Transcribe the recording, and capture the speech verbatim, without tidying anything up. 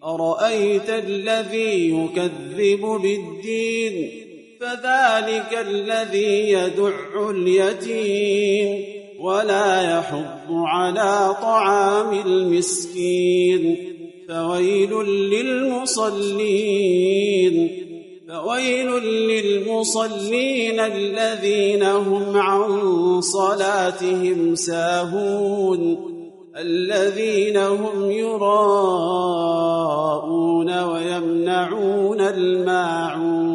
أرأيت الذي يكذب بالدين فذلك الذي يدع اليتيم ولا يحض على طعام المسكين فويل للمصلين فويل للمصلين الذين هم عن صلاتهم ساهون الذين هم يراءون ويمنعون الماعون